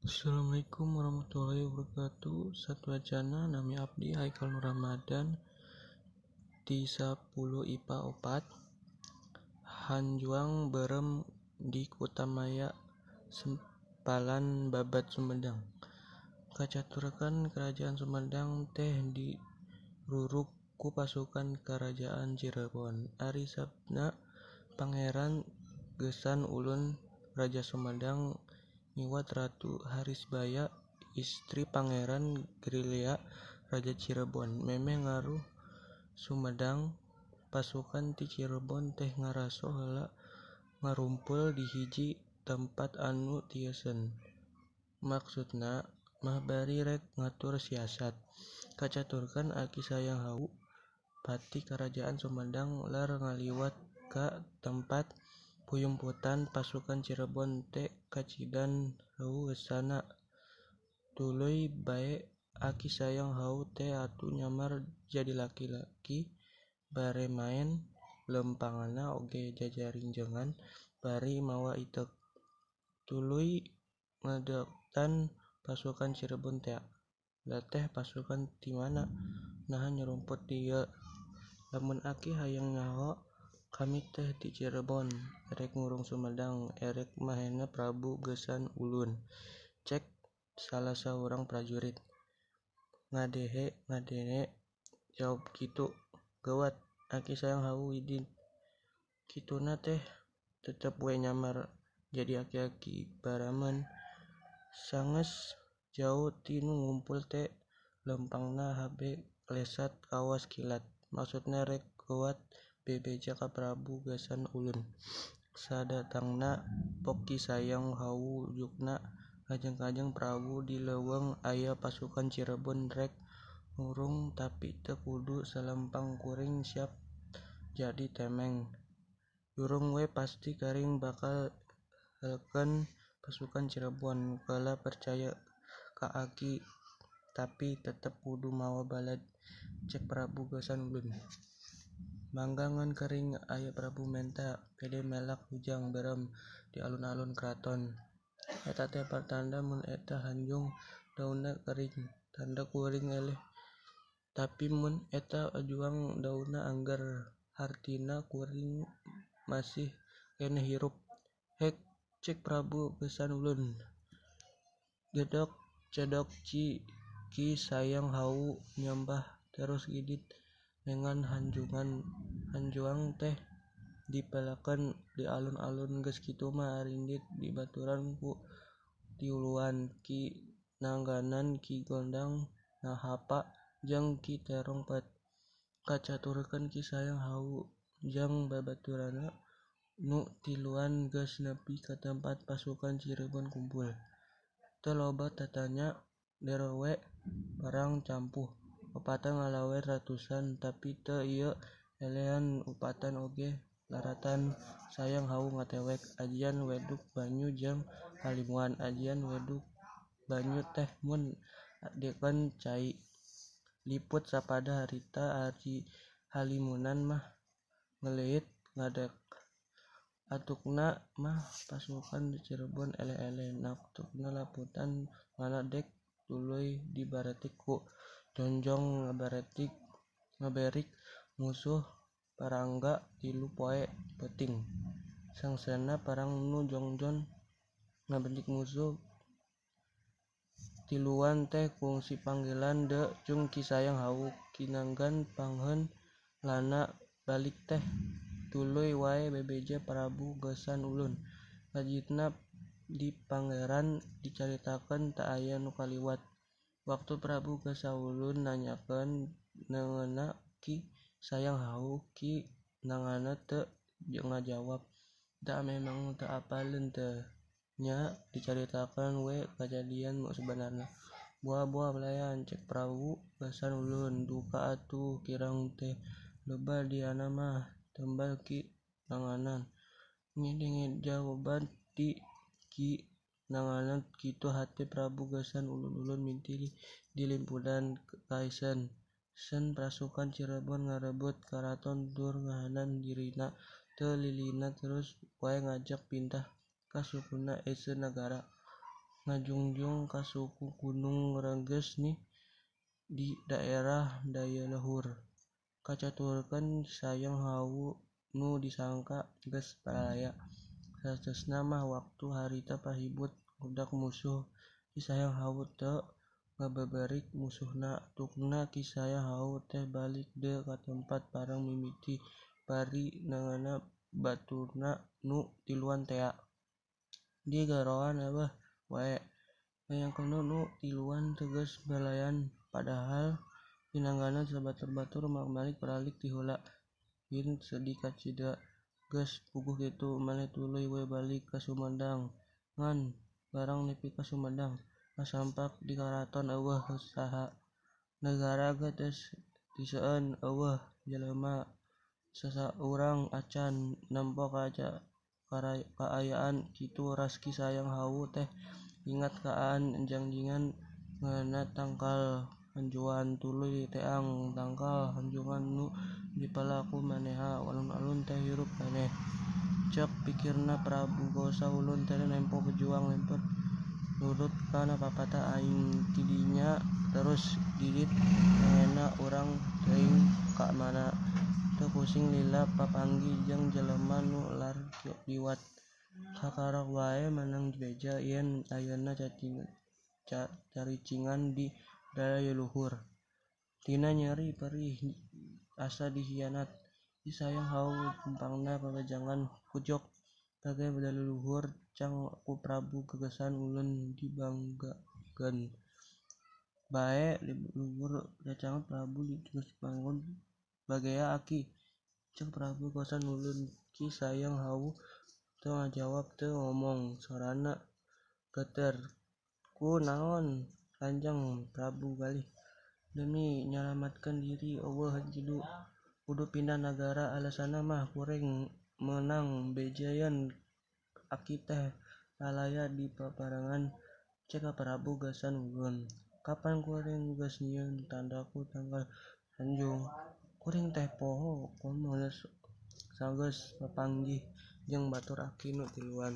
Assalamualaikum warahmatullahi wabarakatuh. Satu wacana nami abdi Haikal Nur Ramadan di 10 IPA 4 Hanjuang berem di Kutamaya Sempalan Babat Sumedang. Kacaturkan kerajaan Sumedang teh di ruruk ku pasukan kerajaan Cirebon. Ari sabna Pangeran Gesan Ulun Raja Sumedang nyiwat Ratu Harisbaya istri Pangeran Grilya Raja Cirebon. Memeh ngaruh Sumedang pasukan ti Cirebon teh ngaraso heula ngarumpul di hiji tempat anu tieuseun. Maksudna mah bari rek ngatur siasat. Kacaturkan Aki Sayang Hawu pati kerajaan Sumedang lar ngaliwat ka tempat puyumputan pasukan Cirebon teh kacidan Hawu geusana. Tuluy bae Aki Sayang Hawu teh atuh nyamar jadi laki-laki bare maen lempangna oge jajarinjengan bari mawa itek. Tuluy ngadeuktan pasukan Cirebon teh. Da teh pasukan ti mana naha nyerumput di ieu. Lamun Aki hayang nyaho kami teh ti Cirebon erek ngurung Sumedang erek mahena Prabu Gesan Ulun, cek salah saurang prajurit. Ngadene jawab kitu. Gawat Aki Sayang Hawu idin. Kituna teh tetep we nyamar jadi aki-aki baraman. Sanges jauh ti nu ngumpul teh lempangna habe klesat kawas kilat. Maksudna rek gawat bebeja ka Prabu Gesan Ulun. Sadatangna pok Ki Sayang Hawu ujugna kajeng-kajeng Prabu di leuweung aya pasukan Cirebon rek ngurung tapi teu kudu salempang kuring siap jadi temeng. Durung we pasti karing bakal helkeun pasukan Cirebon. Keula percaya ka Aki tapi tetep kudu mawa balad, cek Prabu Gesan Ulun. Mangga ngan kering aya Prabu menta pede melak hujang berem di alun-alun kraton. Eta teh pertanda mun eta Hanjung daunna kering, tanda kuring eleh. Tapi mun eta ajuang daunna angger, hartina kuring masih keneh hirup. Hek, cek Prabu Gesan Ulun. Gedog cedok Ki Sayang Hawu nyembah terus gidit nengan Hanjuang teh dipelekeun di alun-alun geus kitu mah arindit dibaturan ku tiuluan Ki Nangganan, Ki Gondang Nahapa, jeung Ki Terongpet. Kacaturkeun Ki Sayang Hawu jeung babaturanna nu tiluan geus nepi ka tempat pasukan Cirebon kumpul. Teu loba tatanya derowe perang campuh. Upatan ngalawer ratusan tapi teu ieu elehan upatan oge laratan Sayang Hawu ngatewek. Ajian weduk banyu jeung halimuan. Ajian weduk banyu teh mun adekeun cai. Liput sapada harita ari halimunan mah ngeuleut ngadek. Atukna mah pasukan Cirebon eleh-eleh. Naktukna laputan ngaledek tuluy dibaretik ku Jonjong ngaberik musuh parangga 3 poe peuting. Sangsena parang nu Jongjon ngaberik musuh tiluan teh kungsi panggilan De cung Ki Sayang Hawu. Kinanggan pangheun lana balik teh tuluy wae bebeja Prabu Gesan Ulun. Lajitna di Pangeran dicaritakeun teu aya nu kaliwat. Waktu Prabu Gesan Ulun nanyakeun neungeunna Ki Sayang Hawu, Ki Nangana teu ngajawab. Da memang teu apaleun teh nya dicaritakeun we kajadian nu sabanarna. Boa-boa belayan, cek Prabu Gesan Ulun. Duka atuh kirang teh loba diana mah, tembal Ki Nanganan. Ngedenge jawaban ti Ki Nanganan kitu hate Prabu Gesan Ulun mintih dilimpudan kaeseun. Seun pasukan Cirebon ngarebut karaton tur ngahanan dirina teu lilina terus wae ngajak pintah ka sukuna Ese Nagara. ngajungjung ka suku Gunung Rengges nih di daerah daya luhur. Kacaturkeun sayang hawu nu disangka geus palaya. Saestuna mah waktu harita pahibut budak musuh Ki Sayang Hawu teu ngabeberik musuhna. Tukna Ki Sayang Hawu teh balik deui ka tempat parang mimiti bari nangana baturna nu tiluan tea. Di garoan Abah wae. Ngayangkeunna nu tiluan teu geus belayan padahal pinangganan sabatur-batur malik peralik ti heula. Hin sedih kacida geus puguh kitu maneh tuluy we balik ka Sumedang. Ngan barang nepi ka Sumedang kasampak di karaton eueuh saha negara ge teu seueun eueuh jelema sasaurang acan nempo kaayaan kitu ras Ki Sayang Hawu teh ingat kaan janjingan ngeunana tangkal hanjuan tuluy teang tangkal hanjuan nu dipalaku maneha alun-alun teh hirup keneh. Ceuk pikirna Prabu Geusa ulun teh nempo bejuang lemper nurut kana papatah aing tidinya terus didit ngena urang teuing ka mana teu pusing lila papanggih jeung jelema nu lar liwat. Sakarok wae meunang beja yen ayeuna caricingan di daya luhur. Tina nyeri perih asa dihianat. Ki Sayang Hawu tumpangna pabejangan kujok tage leluhur cang ku Prabu gegesan ulun dibanggakeun. Bae leluhur recangan Prabu geus bangun bagea aki. Ceuk Prabu gegesan ulun. Ki Sayang Hawu teu ngajawab teu ngomong sorana geuter. Kunaon Kanjeng Prabu galih. Demi nyalametkeun diri eueuh kudu pindah nagara alesanna mah kuring meunang beja yen aki teh lalaya di paparangan. Ceuk Prabu gegesan ulun. Kapan kuring geus nyieun tandaku tangkal Tanjung. Kuring teh poho komo sageus papanggih jeung batur aki nu tiluan.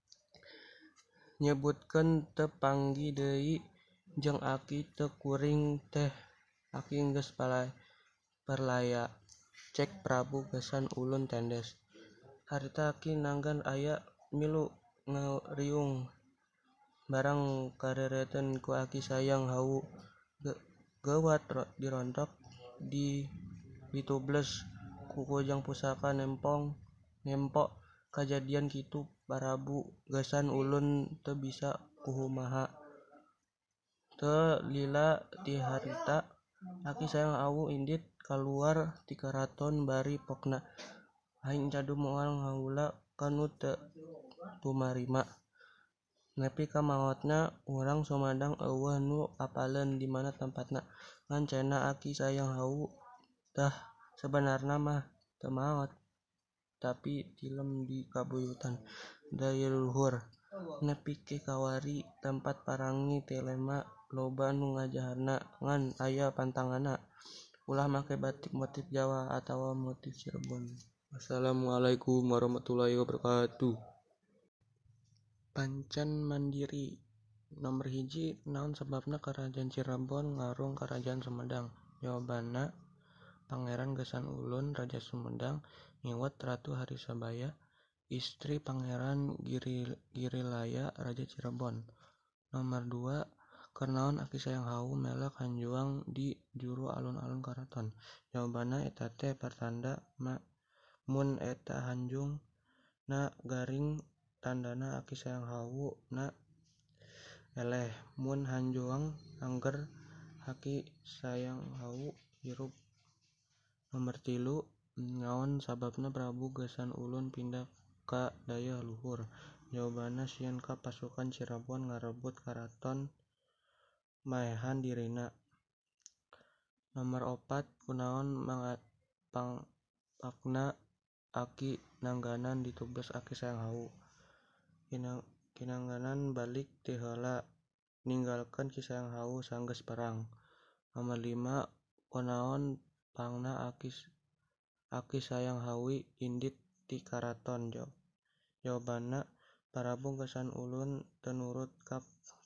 Nyebutkeun teu panggih deui jeung aki teu kuring teh aki geus parlaya. Cek Prabu gegesan ulun tendes. Harita aki nanggan aya milu ngariung barang karereteun ku Ki Sayang Hawu. Geuwat dirontok ditubles ku kujang pusaka nempo kajadian kitu Prabu gegesan ulun teu bisa kumaha. Teu lila ti harita Ki Sayang Hawu indit kaluar ti karaton bari pokna. Aing cadu moal ngaula ka nu teu tumarima. Nepi ka maotna urang Sumedang eueuh nu apaleun di mana tempatna. Ngan cenah Ki Sayang Hawu tah sabenarna mah teu maot tapi tilem di kabuyutan daya luhur. Nepi ke kawari tempat parangi ti lema loba nu ngajaharna ngan aya pantanganna. Ulah make batik motif Jawa atawa motif Cirebon. Wassalamualaikum warahmatullahi wabarakatuh. Pancen mandiri. Nomor 1, naon sababna Karajaan Cirebon ngarung Karajaan Sumedang? Jawabanna Pangeran Gesan Ulun Raja Sumedang ngiwet Ratu Harisabaya istri Pangeran Girilaya Raja Cirebon. Nomor 2, Kernaon Ki Sayang Hawu melak hanjuang di juru alun-alun karaton? Jawabanna eta teh pertanda mun eta hanjung na garing tandana Ki Sayang Hawu na eleh. Mun hanjuang angger Ki Sayang Hawu hirup. Nomor 3, naon sababna Prabu Gesan Ulun pindah ka daya luhur? Jawabanna sieun ka pasukan Cirebon ngarebut karaton maehan dirina. Nomor 4, kunaon pangpakna Aki Nangganan ditubles Ki Sayang Hawu? Kinangganan balik ti heula ninggalkeun Ki Sayang Hawu sanggeus perang. Nomor 5, kunaon pangna Ki Sayang Hawu indit ti karaton? Jawabanna Prabu Gesan Ulun teu nurut ka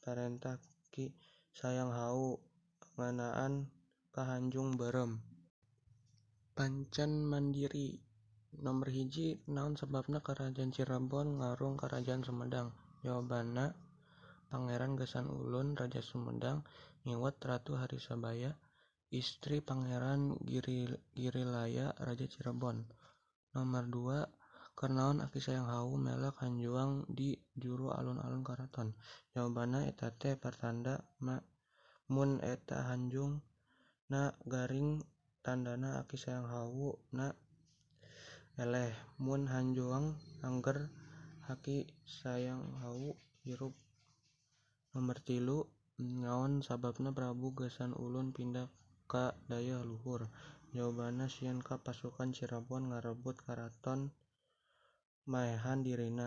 Tanjung Barem. Pancen mandiri. Nomor hiji, naon sebabna Kerajaan Cirebon ngarung Kerajaan Sumedang? Jawabanna, Pangeran Gesang Ulun Raja Sumedang ngiwet Ratu Harisabaya, istri Pangeran Girilaya Raja Cirebon. Nomor 2, kernaon Aki Sayang Hawu melak hanjuang di juru alun-alun karaton? Jawabanna eta teh pertanda mun eta hanjung na garing tandana Aki Sayang Hawu na eleh, mun hanjuang angger Aki Sayang Hawu hirup. Nomor 3, naon sababna Prabu Gesang Ulun pindah ka daya luhur? Jawabanna sieun ka pasukan Cirebon ngarebut karaton maehan dirina.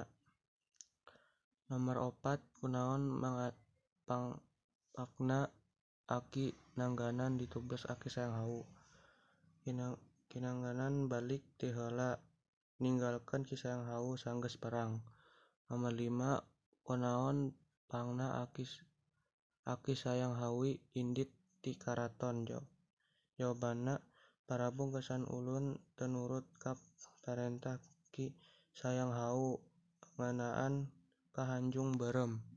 Nomor 4, kunaon pangpakna Aki Nangganan ditugas Aki Sayang Hawu? Kinangganan balik ti heula ninggalkeun Ki Sayang Hawu sanggeus perang. Nomor 5, kunaon pangna Aki Sayang Hawu indit ti karaton? Jawabanna, Prabu Gesang Ulun teu nurut ka parentah Ki Sayang Hawu ngeunaan ka Tanjung Barem.